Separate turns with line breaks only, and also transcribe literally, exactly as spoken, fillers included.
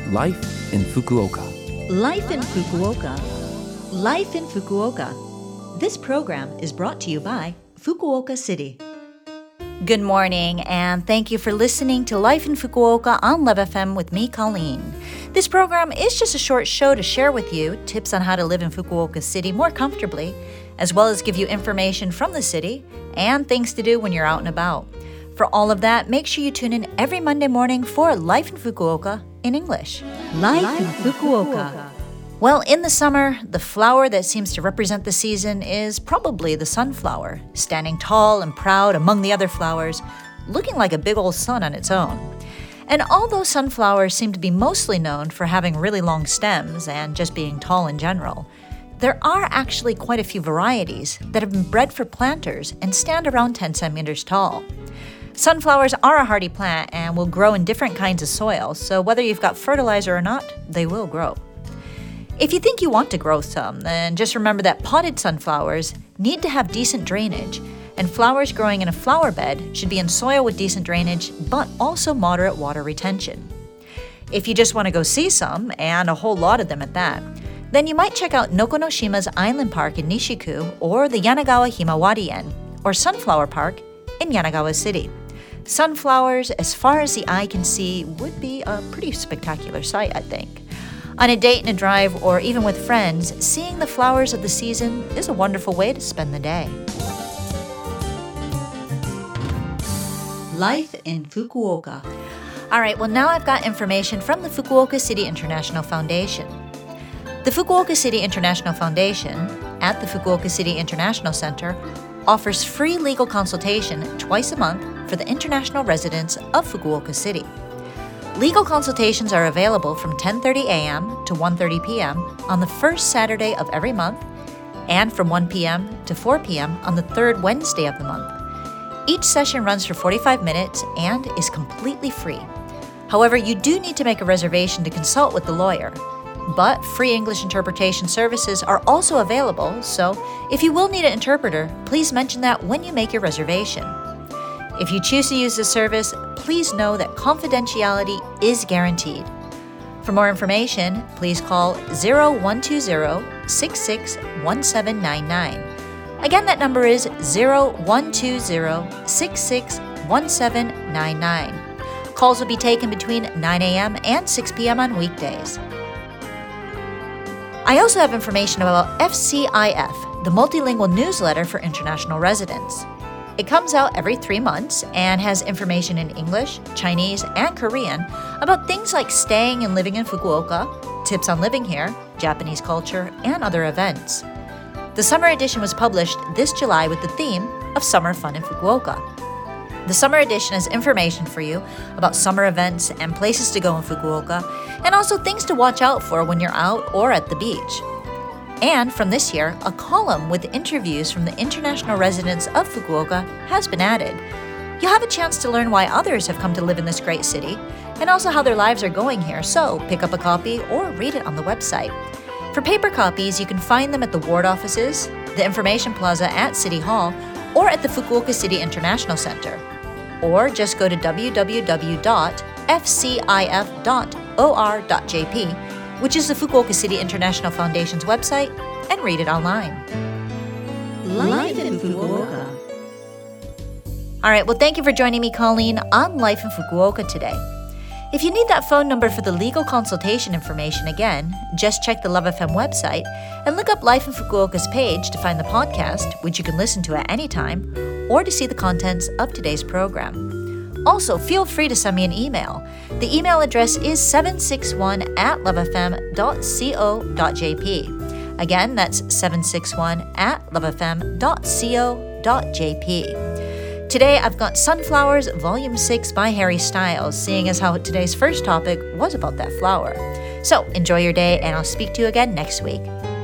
Life in Fukuoka.
Life in Fukuoka. Life in Fukuoka. This program is brought to you by Fukuoka City. Good morning, and thank you for listening to Life in Fukuoka on Love F M with me, Colleen. This program is just a short show to share with you tips on how to live in Fukuoka City more comfortably, as well as give you information from the city and things to do when you're out and about. For all of that, make sure you tune in every Monday morning for Life in Fukuoka in English. Life, Life in Fukuoka. Fukuoka. Well, in the summer, the flower that seems to represent the season is probably the sunflower, standing tall and proud among the other flowers, looking like a big old sun on its own. And although sunflowers seem to be mostly known for having really long stems and just being tall in general, there are actually quite a few varieties that have been bred for planters and stand around ten centimeters tall. Sunflowers are a hardy plant and will grow in different kinds of soil, so whether you've got fertilizer or not, they will grow. If you think you want to grow some, then just remember that potted sunflowers need to have decent drainage, and flowers growing in a flower bed should be in soil with decent drainage, but also moderate water retention. If you just want to go see some, and a whole lot of them at that, then you might check out Nokonoshima's Island Park in Nishiku or the Yanagawa Himawari-en, or Sunflower Park in Yanagawa City. Sunflowers, as far as the eye can see, would be a pretty spectacular sight, I think. On a date and a drive, or even with friends, seeing the flowers of the season is a wonderful way to spend the day. Life in Fukuoka. All right, well, now I've got information from the Fukuoka City International Foundation. The Fukuoka City International Foundation, at the Fukuoka City International Center, offers free legal consultation twice a month for the international residents of Fukuoka City. Legal consultations are available from ten thirty a.m. to one thirty p.m. on the first Saturday of every month and from one p.m. to four p.m. on the third Wednesday of the month. Each session runs for forty-five minutes and is completely free. However, you do need to make a reservation to consult with the lawyer. But free English interpretation services are also available, so if you will need an interpreter, please mention that when you make your reservation. If you choose to use this service, please know that confidentiality is guaranteed. For more information, please call zero one two zero, six six one seven nine nine. Again, that number is zero one two zero, six six one seven nine nine. Calls will be taken between nine a.m. and six p.m. on weekdays. I also have information about F C I F, the multilingual newsletter for international residents. It comes out every three months and has information in English, Chinese, and Korean about things like staying and living in Fukuoka, tips on living here, Japanese culture, and other events. The summer edition was published this July with the theme of Summer Fun in Fukuoka. The summer edition has information for you about summer events and places to go in Fukuoka, and also things to watch out for when you're out or at the beach. And from this year, a column with interviews from the international residents of Fukuoka has been added. You'll have a chance to learn why others have come to live in this great city, and also how their lives are going here, so pick up a copy or read it on the website. For paper copies, you can find them at the ward offices, the information plaza at City Hall, or at the Fukuoka City International Center. Or just go to w w w dot f c i f dot o r dot j p, which is the Fukuoka City International Foundation's website, and read it online. Life in Fukuoka. All right, well, thank you for joining me, Colleen, on Life in Fukuoka today. If you need that phone number for the legal consultation information again, just check the Love F M website and look up Life in Fukuoka's page to find the podcast, which you can listen to at any time, or to see the contents of today's program. Also, feel free to send me an email. The email address is seven six one at love f m dot co dot j p. Again, that's seven six one at love f m dot co dot j p. Today, I've got Sunflowers, Volume six by Harry Styles, seeing as how today's first topic was about that flower. So, enjoy your day, and I'll speak to you again next week.